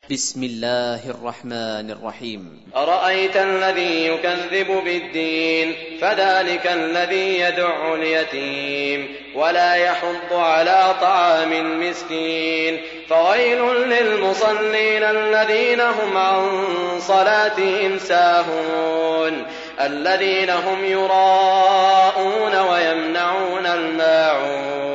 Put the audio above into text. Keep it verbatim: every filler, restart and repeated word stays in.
بسم الله الرحمن الرحيم. أرأيت الذي يكذب بالدين فذلك الذي يدع اليتيم ولا يحض على طعام المسكين فويل للمصلين الذين هم عن صلاتهم ساهون الذين هم يراءون ويمنعون الماعون